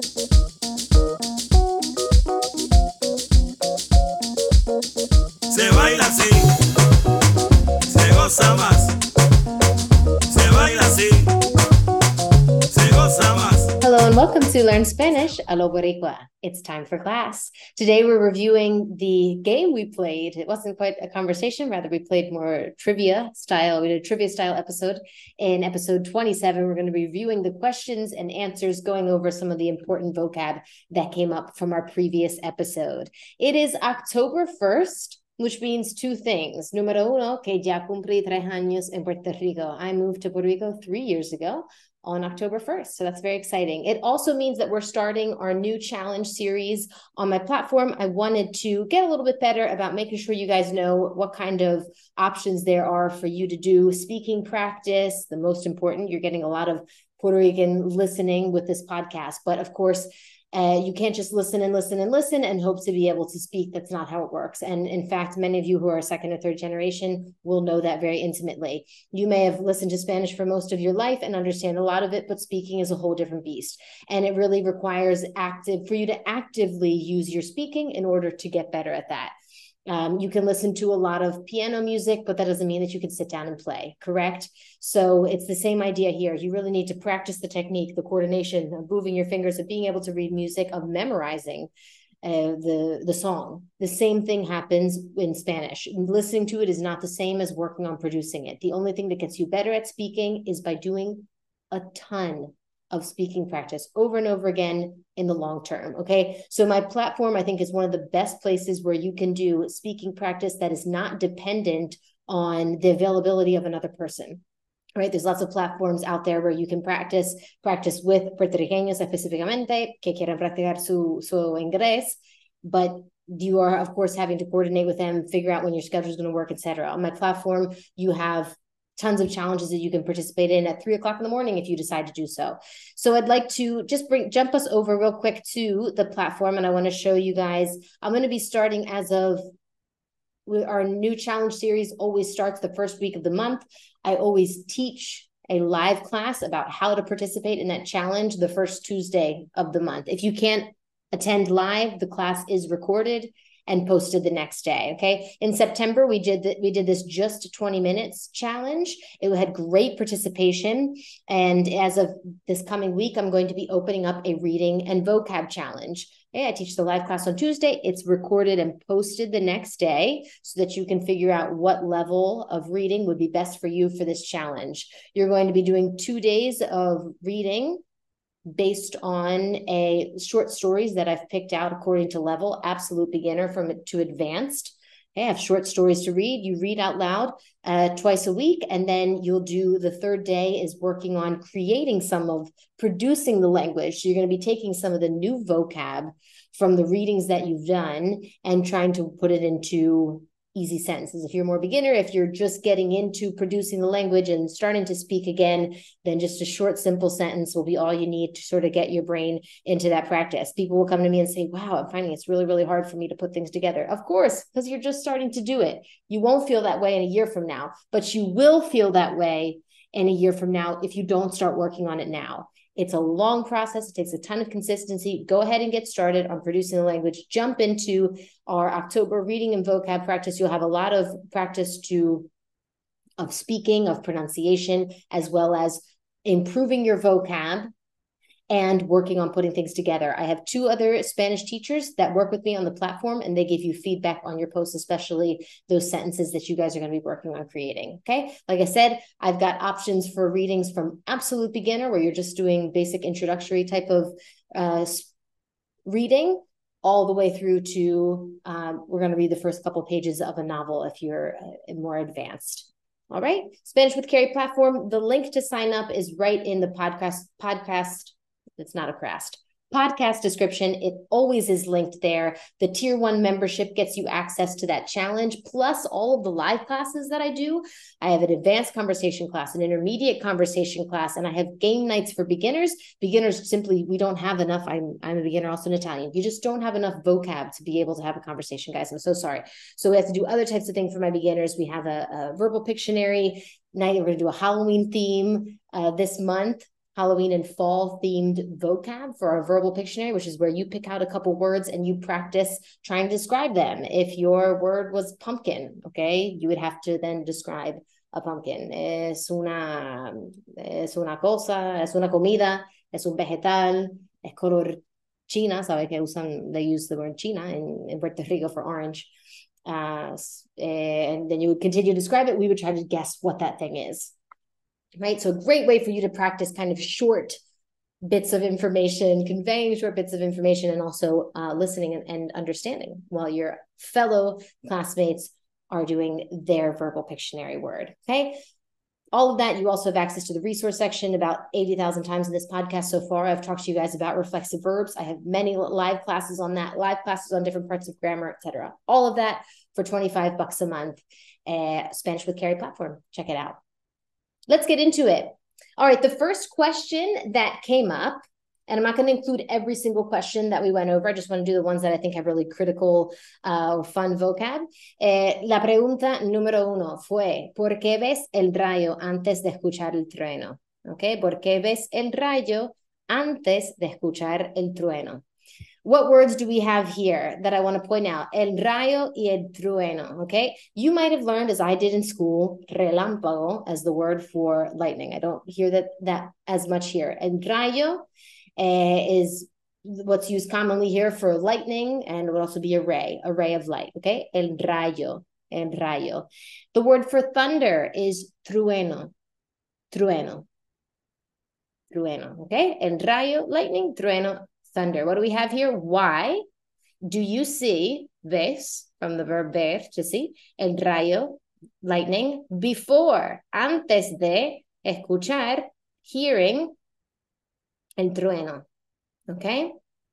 Se baila así, se goza más. Se baila así, se goza más. Hello and welcome to Learn Spanish a lo Boricua. It's time for class. Today we're reviewing the game we played. It wasn't quite a conversation, rather we played more trivia style. We did a trivia style episode. In episode 27, we're going to be reviewing the questions and answers, going over some of the important vocab that came up from our previous episode. It is October 1st, which means two things. Número uno, que ya cumplí 3 años en Puerto Rico. I moved to Puerto Rico 3 years ago on October 1st. So that's very exciting. It also means that we're starting our new challenge series on my platform. I wanted to get a little bit better about making sure you guys know what kind of options there are for you to do speaking practice. The most important, you're getting a lot of Puerto Rican listening with this podcast. But of course, you can't just listen and hope to be able to speak. That's not how it works. And in fact, many of you who are second or third generation will know that very intimately. You may have listened to Spanish for most of your life and understand a lot of it, but speaking is a whole different beast. And it really requires for you to actively use your speaking in order to get better at that. You can listen to a lot of piano music, but that doesn't mean that you can sit down and play, correct? So it's the same idea here. You really need to practice the technique, the coordination of moving your fingers, of being able to read music, of memorizing the song. The same thing happens in Spanish. Listening to it is not the same as working on producing it. The only thing that gets you better at speaking is by doing a ton of speaking practice over and over again in the long term. Okay. So my platform, I think, is one of the best places where you can do speaking practice that is not dependent on the availability of another person. Right. There's lots of platforms out there where you can practice with puertorriqueños específicamente que quieran practicar su inglés, but you are, of course, having to coordinate with them, figure out when your schedule is going to work, etc. On my platform, you have tons of challenges that you can participate in at 3:00 in the morning if you decide to do so. So I'd like to just jump us over real quick to the platform. And I want to show you guys, I'm going to be starting our new challenge series always starts the first week of the month. I always teach a live class about how to participate in that challenge the first Tuesday of the month. If you can't attend live, the class is recorded and posted the next day. Okay. In September, we did this just 20 minutes challenge. It had great participation. And as of this coming week, I'm going to be opening up a reading and vocab challenge. Okay, I teach the live class on Tuesday. It's recorded and posted the next day so that you can figure out what level of reading would be best for you for this challenge. You're going to be doing 2 days of reading based on short stories that I've picked out according to level, absolute beginner to advanced. I have short stories to read. You read out loud twice a week, and then you'll do the third day is working on producing the language. So you're going to be taking some of the new vocab from the readings that you've done and trying to put it into easy sentences. If you're more beginner, if you're just getting into producing the language and starting to speak again, then just a short, simple sentence will be all you need to sort of get your brain into that practice. People will come to me and say, wow, I'm finding it's really, really hard for me to put things together. Of course, because you're just starting to do it. You won't feel that way in a year from now, but you will feel that way in a year from now if you don't start working on it now. It's a long process. It takes a ton of consistency. Go ahead and get started on producing the language. Jump into our October reading and vocab practice. You'll have a lot of practice of speaking, of pronunciation, as well as improving your vocab and working on putting things together. I have 2 other Spanish teachers that work with me on the platform, and they give you feedback on your posts, especially those sentences that you guys are going to be working on creating. Okay. Like I said, I've got options for readings from absolute beginner, where you're just doing basic introductory type of reading, all the way through to we're going to read the first couple pages of a novel if you're more advanced. All right. Spanish with Carrie platform. The link to sign up is right in the podcast. It's not a crast. Podcast description. It always is linked there. The tier 1 membership gets you access to that challenge, plus all of the live classes that I do. I have an advanced conversation class, an intermediate conversation class, and I have game nights for beginners. Beginners simply, we don't have enough. I'm a beginner also in Italian. You just don't have enough vocab to be able to have a conversation, guys. I'm so sorry. So we have to do other types of things for my beginners. We have a verbal Pictionary night. We're going to do a Halloween theme this month. Halloween and fall themed vocab for our verbal Pictionary, which is where you pick out a couple words and you practice trying to describe them. If your word was pumpkin, okay, you would have to then describe a pumpkin. Es una cosa, es una comida, es un vegetal, es color china, sabe que they use the word china in Puerto Rico for orange. And then you would continue to describe it. We would try to guess what that thing is. Right? So a great way for you to practice kind of short bits of information, conveying short bits of information, and also listening and understanding while your fellow classmates are doing their verbal Pictionary word. Okay. All of that, you also have access to the resource section. About 80,000 times in this podcast so far, I've talked to you guys about reflexive verbs. I have many live classes on that, live classes on different parts of grammar, etc. All of that for $25 a month. Spanish with Carrie platform. Check it out. Let's get into it. All right, the first question that came up, and I'm not going to include every single question that we went over. I just want to do the ones that I think have really critical or fun vocab. La pregunta número uno fue, ¿por qué ves el rayo antes de escuchar el trueno? Okay, ¿por qué ves el rayo antes de escuchar el trueno? What words do we have here that I want to point out? El rayo y el trueno, okay? You might have learned, as I did in school, relámpago as the word for lightning. I don't hear that as much here. El rayo is what's used commonly here for lightning, and it would also be a ray of light, okay? El rayo. The word for thunder is trueno, okay? El rayo, lightning, trueno, thunder. What do we have here? Why do you see, ves, from the verb ver, to see, el rayo, lightning, before, antes de, escuchar, hearing, el trueno? Okay?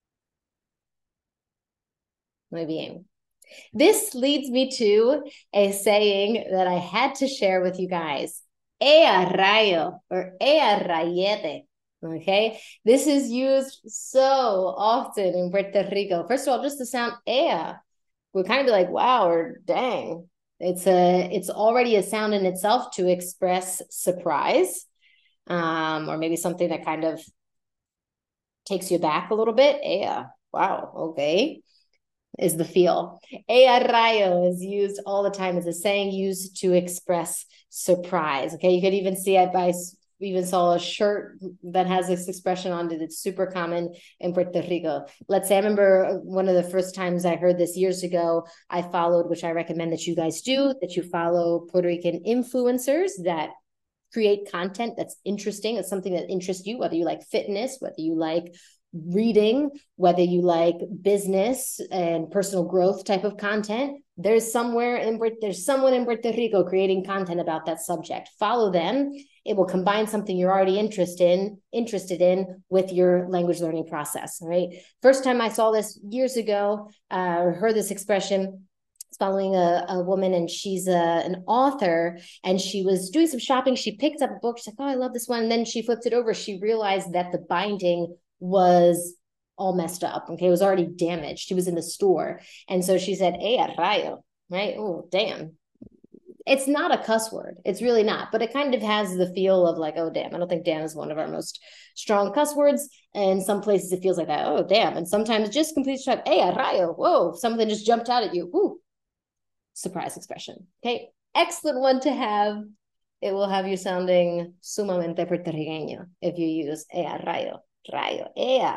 Muy bien. This leads me to a saying that I had to share with you guys. Ea rayo, or ea rayete. Okay, this is used so often in Puerto Rico. First of all, just the sound ea would kind of be like, wow, or dang. It's already a sound in itself to express surprise, or maybe something that kind of takes you back a little bit. Ea, wow, okay, is the feel. Ea rayo is used all the time as a saying used to express surprise. Okay, you could even see it by. We even saw a shirt that has this expression on it. It's super common in Puerto Rico. Let's say, I remember one of the first times I heard this years ago, I followed, which I recommend that you guys do, that you follow Puerto Rican influencers that create content that's interesting. It's something that interests you, whether you like fitness, whether you like reading, whether you like business and personal growth type of content. There's someone in Puerto Rico creating content about that subject. Follow them. It will combine something you're already interested in with your language learning process, right? First time I saw this years ago, heard this expression, following a woman, and she's an author, and she was doing some shopping. She picked up a book. She's like, oh, I love this one. And then she flipped it over. She realized that the binding was all messed up. Okay, it was already damaged. She was in the store. And so she said, ea rayo, right? Oh, damn. It's not a cuss word. It's really not, but it kind of has the feel of like, oh, damn. I don't think damn is one of our most strong cuss words. And some places it feels like that. Oh, damn. And sometimes just complete strike. Ea rayo. Whoa, something just jumped out at you. Woo. Surprise expression. Okay, excellent one to have. It will have you sounding sumamente puertorriqueño if you use ea rayo, ea.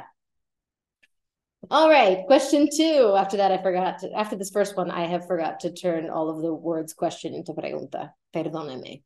All right, question 2. After that, after this first one, I have forgot to turn all of the words question into pregunta. Perdóneme.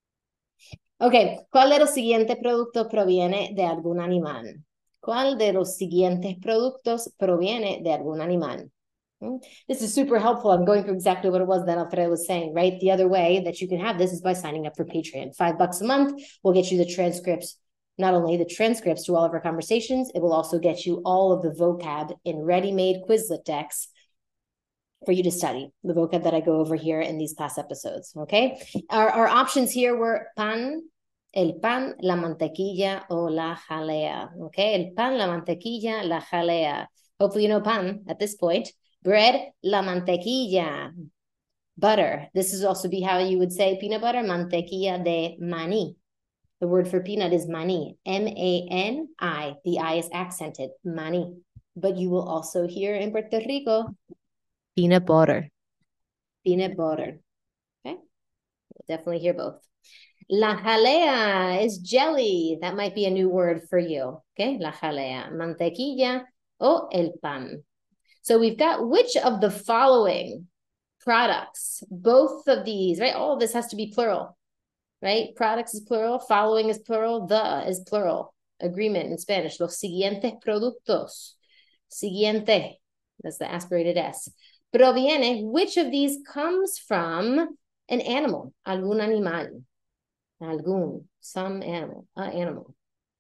Okay, ¿cuál de los siguientes productos proviene de algún animal? ¿Cuál de los siguientes productos proviene de algún animal? This is super helpful. I'm going through exactly what it was that Alfredo was saying, right? The other way that you can have this is by signing up for Patreon. $5 a month will get you the transcripts, not only the transcripts to all of our conversations, it will also get you all of the vocab in ready-made Quizlet decks for you to study, the vocab that I go over here in these class episodes, okay? Our options here were el pan, la mantequilla, o la jalea, okay? El pan, la mantequilla, la jalea. Hopefully you know pan at this point. Bread, la mantequilla. Butter. This is also be how you would say peanut butter, mantequilla de maní. The word for peanut is maní, M-A-N-I. The I is accented, maní. But you will also hear in Puerto Rico, peanut butter. Peanut butter. Okay? You'll definitely hear both. La jalea is jelly. That might be a new word for you. Okay? La jalea. Mantequilla o el pan. So we've got which of the following products, both of these, right? All of this has to be plural, right? Products is plural, following is plural, the is plural. Agreement in Spanish, los siguientes productos. Siguiente, that's the aspirated S. Proviene, which of these comes from an animal? Algún animal. Algún, some animal, animal.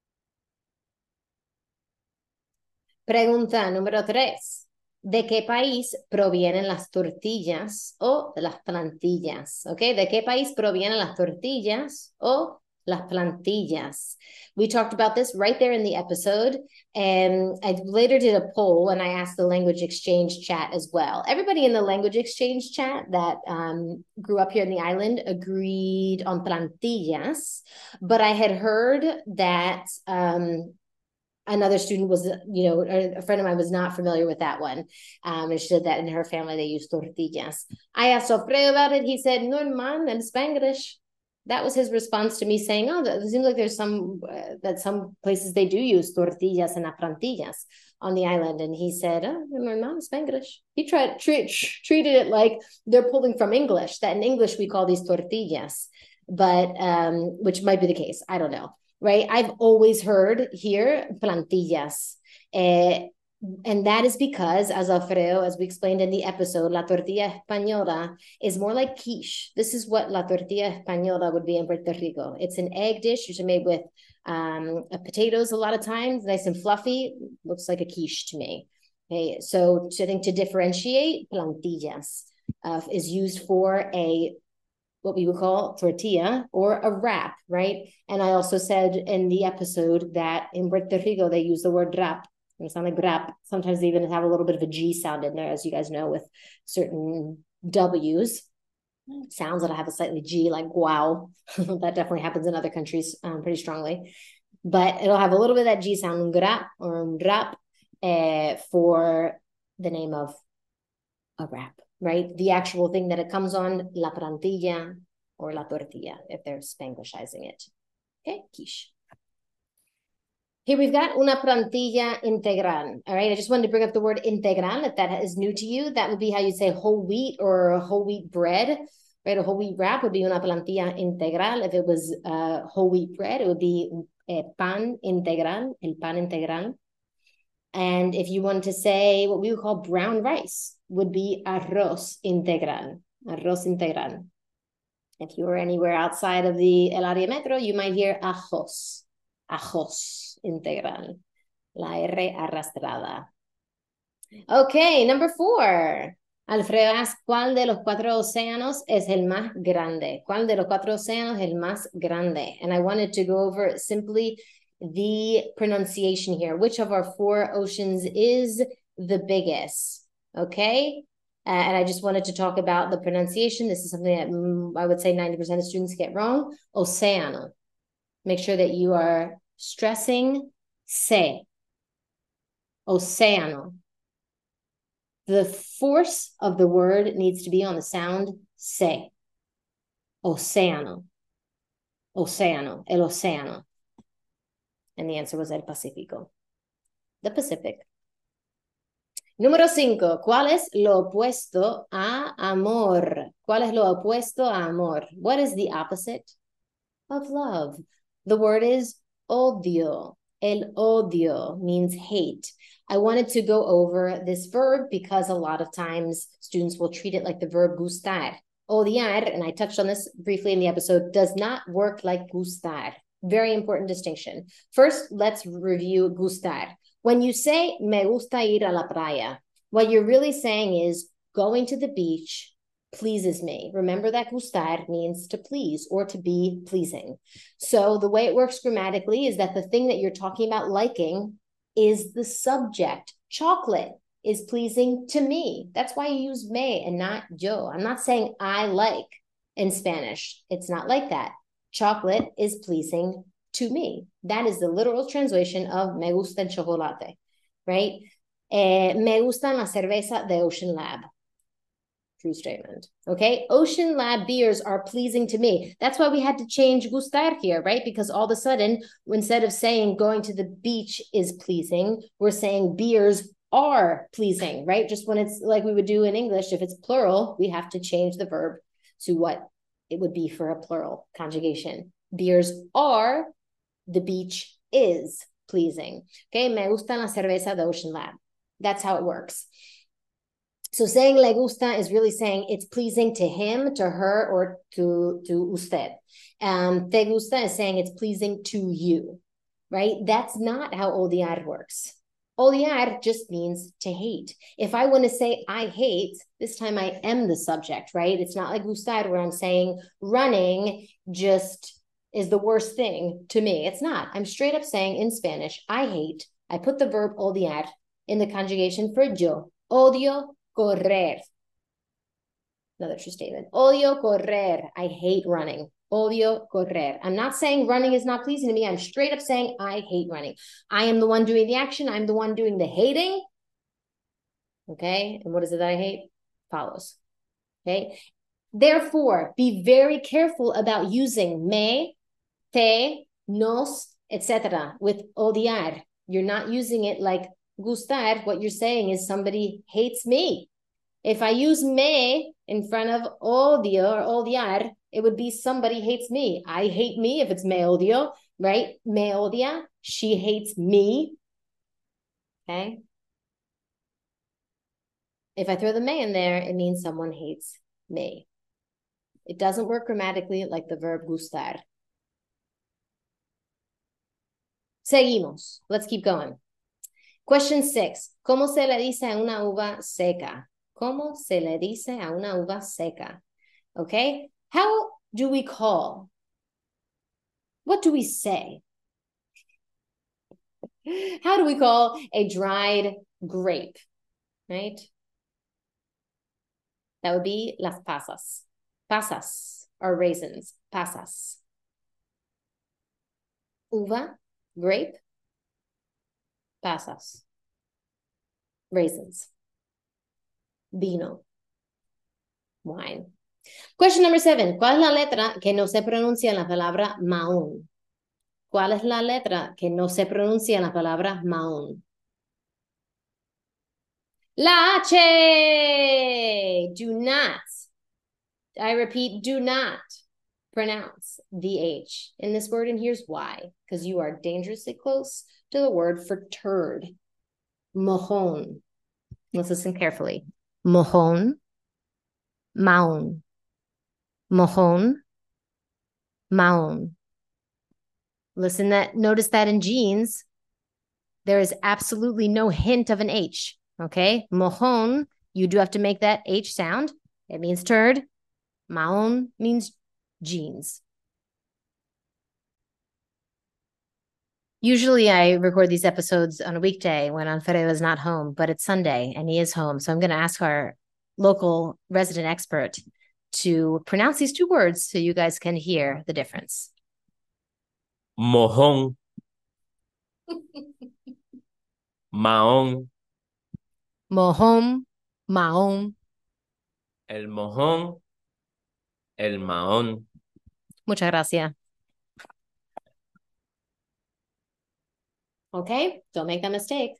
Pregunta número 3. ¿De qué país provienen las tortillas o las plantillas? Okay, ¿de qué país provienen las tortillas o las plantillas? We talked about this right there in the episode, and I later did a poll and I asked the language exchange chat as well. Everybody in the language exchange chat that grew up here in the island agreed on plantillas, but I had heard that another student was, a friend of mine was not familiar with that one. And she said that in her family, they use tortillas. I asked Alfredo about it. He said, no, man, en Spanglish. That was his response to me saying, oh, it seems like there's that some places they do use tortillas and plantillas on the island. And he said, oh, no, man, Spanglish. He treated it like they're pulling from English, that in English we call these tortillas, but which might be the case. I don't know. Right? I've always heard here plantillas. And that is because, as Alfredo, as we explained in the episode, la tortilla española is more like quiche. This is what la tortilla española would be in Puerto Rico. It's an egg dish, usually made with potatoes a lot of times, nice and fluffy. Looks like a quiche to me. Okay, so I think to differentiate, plantillas is used for what we would call tortilla or a wrap, right? And I also said in the episode that in Puerto Rico, they use the word wrap. It sounds like wrap. Sometimes they even have a little bit of a G sound in there, as you guys know, with certain W's. Sounds that have a slightly G, like wow. That definitely happens in other countries pretty strongly. But it'll have a little bit of that G sound, un grap or un wrap, for the name of a wrap. Right? The actual thing that it comes on, la plantilla or la tortilla, if they're Spanglishizing it. Okay, quiche. Here we've got una plantilla integral. All right, I just wanted to bring up the word integral. If that is new to you, that would be how you'd say whole wheat or whole wheat bread. Right, a whole wheat wrap would be una plantilla integral. If it was whole wheat bread, it would be pan integral, el pan integral. And if you wanted to say what we would call brown rice, would be arroz integral, arroz integral. If you were anywhere outside of the El Área Metro, you might hear ajos, ajos integral, la R arrastrada. Okay, number 4. Alfredo asked, ¿cuál de los 4 océanos es el más grande? ¿Cuál de los 4 océanos es el más grande? And I wanted to go over simply the pronunciation here. Which of our 4 oceans is the biggest? Okay, and I just wanted to talk about the pronunciation. This is something that I would say 90% of students get wrong. Océano. Make sure that you are stressing se. Océano. The force of the word needs to be on the sound se. Océano. Océano. El océano. And the answer was el Pacífico. The Pacific. Número 5. ¿Cuál es lo opuesto a amor? ¿Cuál es lo opuesto a amor? What is the opposite of love? The word is odio. El odio means hate. I wanted to go over this verb because a lot of times students will treat it like the verb gustar. Odiar, and I touched on this briefly in the episode, does not work like gustar. Very important distinction. First, let's review gustar. When you say, me gusta ir a la playa, what you're really saying is going to the beach pleases me. Remember that gustar means to please or to be pleasing. So the way it works grammatically is that the thing that you're talking about liking is the subject. Chocolate is pleasing to me. That's why you use me and not yo. I'm not saying I like in Spanish. It's not like that. Chocolate is pleasing to me. That is the literal translation of me gusta el chocolate, right? Me gusta la cerveza de Ocean Lab. True statement. Okay. Ocean Lab beers are pleasing to me. That's why we had to change gustar here, right? Because all of a sudden, instead of saying going to the beach is pleasing, we're saying beers are pleasing, right? Just when it's like we would do in English, if it's plural, we have to change the verb to what it would be for a plural conjugation. Beers are, the beach is pleasing. Okay. Me gusta la cerveza de Ocean Lab. That's how it works. So saying le gusta is really saying it's pleasing to him, to her, or to usted. Te gusta is saying it's pleasing to you, right? That's not how odiar works. Odiar just means to hate. If I want to say I hate, this time I am the subject, right? It's not like gustar where I'm saying running just is the worst thing to me. It's not. I'm straight up saying in Spanish, I hate. I put the verb odiar in the conjugation for yo. Odio correr. Another true statement. Odio correr. I hate running. Odio correr. I'm not saying running is not pleasing to me. I'm straight up saying I hate running. I am the one doing the action. I'm the one doing the hating. Okay. And what is it that I hate? Follows. Okay. Therefore, be very careful about using me, te, nos, etc. with odiar. You're not using it like gustar. What you're saying is somebody hates me. If I use me in front of odio or odiar, it would be somebody hates me. I hate me if it's me odio, right? Me odia. She hates me. Okay. If I throw the me in there, it means someone hates me. It doesn't work grammatically like the verb gustar. Seguimos. Let's keep going. Question 6. ¿Cómo se le dice a una uva seca? ¿Cómo se le dice a una uva seca? Okay. How do we call? What do we say? How do we call a dried grape? Right? That would be las pasas. Pasas are raisins. Pasas. Uva, grape. Pasas. Raisins. Vino. Wine. Question number 7. ¿Cuál es la letra que no se pronuncia en la palabra mahón? ¿Cuál es la letra que no se pronuncia en la palabra mahón? La H. Do not. I repeat, do not pronounce the H in this word, and here's why. Because you are dangerously close to the word for turd. Mojón. Let's listen carefully. Mojón. Mahón. Mojón. Mahón. Notice that in jeans, there is absolutely no hint of an H. Okay. Mojón, you do have to make that H sound. It means turd. Mahón means jeans. Usually I record these episodes on a weekday when Alfredo is not home, but it's Sunday and he is home. So I'm going to ask our local resident expert to pronounce these two words so you guys can hear the difference. Mojón. Mahón. Mojón, mahón. El mojón. El mahón. Muchas gracias. Okay, don't make that mistake.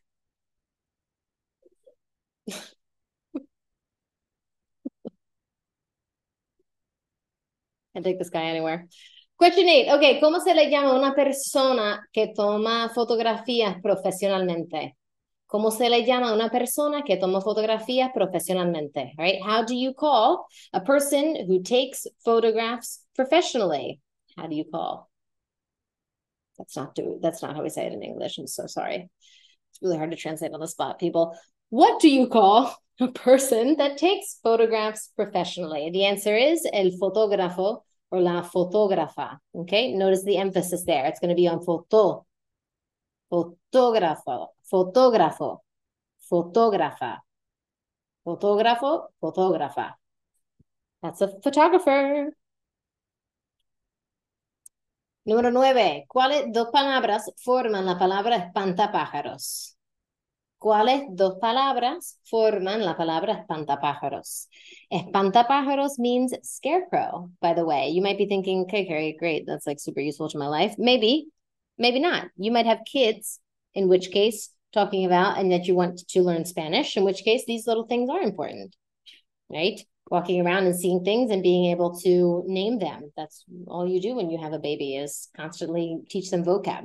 I'd take this guy anywhere. Question 8. Okay, ¿cómo se le llama a una persona que toma fotografías profesionalmente? ¿Cómo se le llama a una persona que toma fotografías profesionalmente? Right? How do you call a person who takes photographs professionally? How do you call? That's not how we say it in English. I'm so sorry. It's really hard to translate on the spot, people. What do you call a person that takes photographs professionally? The answer is el fotógrafo or la fotógrafa. Okay, notice the emphasis there. It's going to be on foto. Fotógrafo, fotógrafo, fotógrafa. Fotógrafo, fotógrafa. That's a photographer. Número 9. ¿Cuáles dos palabras forman la palabra espantapájaros? ¿Cuáles dos palabras forman la palabra espantapájaros? Espantapájaros means scarecrow, by the way. You might be thinking, okay, Carrie, great. That's like super useful to my life. Maybe, maybe not. You might have kids, in which case, talking about and that you want to learn Spanish, in which case these little things are important, right? Walking around and seeing things and being able to name them. That's all you do when you have a baby is constantly teach them vocab.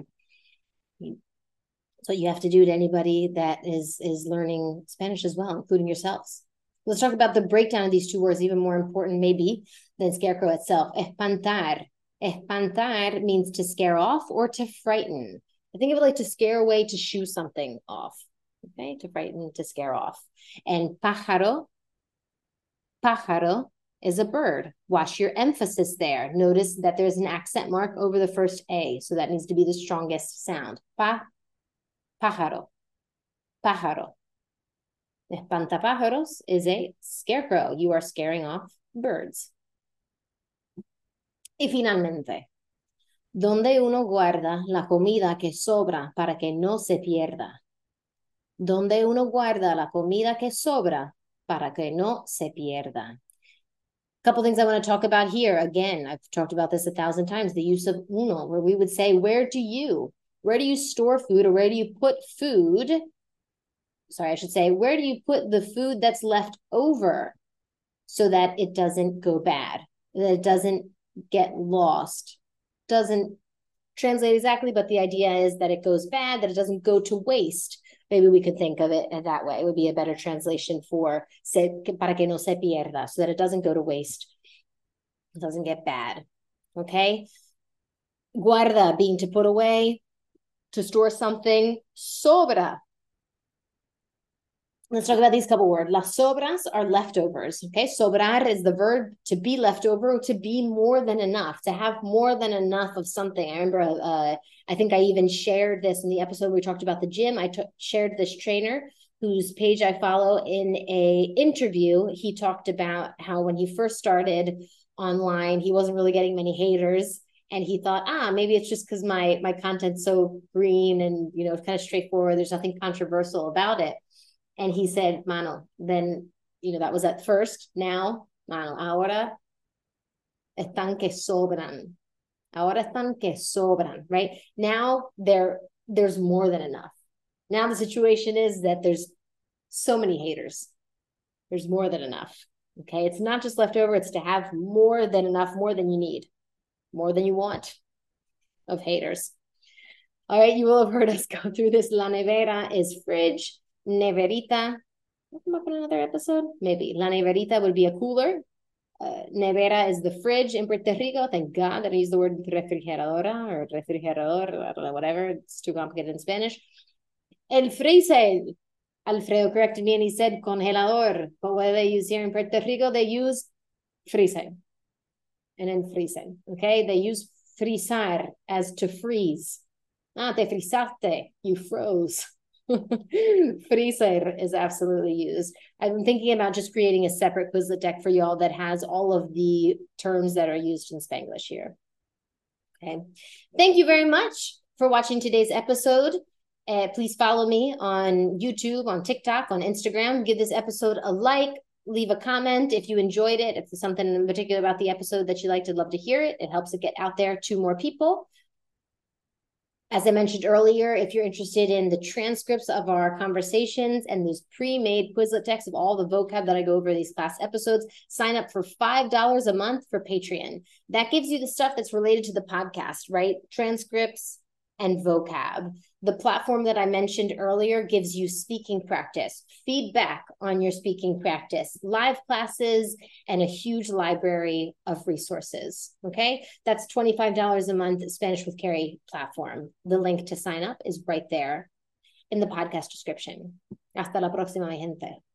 So you have to do to anybody that is learning Spanish as well, including yourselves. Let's talk about the breakdown of these two words, even more important maybe than scarecrow itself. Espantar. Espantar means to scare off or to frighten. I think of it like to scare away, to shoo something off. Okay, to frighten, to scare off. And pájaro is a bird. Watch your emphasis there. Notice that there's an accent mark over the first A, so that needs to be the strongest sound. Pájaro. Espantapájaros is a scarecrow. You are scaring off birds. Y finalmente, ¿dónde uno guarda la comida que sobra para que no se pierda? ¿Dónde uno guarda la comida que sobra para que no se pierda? Couple things I want to talk about here. Again, I've talked about this 1,000 times, the use of uno, where we would say, where do you store food, or where do you put food? Sorry, I should say, where do you put the food that's left over so that it doesn't go bad, that it doesn't get lost? Doesn't translate exactly, but the idea is that it goes bad, that it doesn't go to waste. Maybe we could think of it that way. It would be a better translation for para que no se pierda, so that it doesn't go to waste. It doesn't get bad. Okay? Guarda being to put away, to store something. Sobra. Let's talk about these couple words. Las sobras are leftovers. Okay? Sobrar is the verb to be left over, or to be more than enough, to have more than enough of something. I remember, I think I even shared this in the episode we talked about the gym. I shared this trainer whose page I follow in a interview. He talked about how when he first started online, he wasn't really getting many haters. And he thought, maybe it's just because my content's so green and, it's kind of straightforward. There's nothing controversial about it. And he said, mano, then, that was at first. Now, mano, ahora están que sobran. Ahora están que sobran, right? Now there's more than enough. Now the situation is that there's so many haters. There's more than enough, okay? It's not just leftover. It's to have more than enough, more than you need, more than you want of haters. All right, you will have heard us go through this. La nevera is fridge. Neverita, we'll come up in another episode, maybe. La neverita would be a cooler. Nevera is the fridge in Puerto Rico. Thank God that I used the word refrigeradora or refrigerador, I don't know, whatever. It's too complicated in Spanish. El freezer. Alfredo corrected me and he said congelador. But what do they use here in Puerto Rico? They use freezer. And then freezing, okay? They use frizar as to freeze. Te frizaste, you froze. Freezer is absolutely used. I've been thinking about just creating a separate Quizlet deck for y'all that has all of the terms that are used in Spanglish here. Okay. Thank you very much for watching today's episode. Please follow me on YouTube, on TikTok, on Instagram. Give this episode a like. Leave a comment if you enjoyed it. If there's something in particular about the episode that you liked, I'd love to hear it. It helps it get out there to more people. As I mentioned earlier, if you're interested in the transcripts of our conversations and these pre-made Quizlet decks of all the vocab that I go over these class episodes, sign up for $5 a month for Patreon. That gives you the stuff that's related to the podcast, right? Transcripts and vocab. The platform that I mentioned earlier gives you speaking practice, feedback on your speaking practice, live classes, and a huge library of resources, okay? That's $25 a month Spanish with Carrie platform. The link to sign up is right there in the podcast description. Hasta la próxima, gente.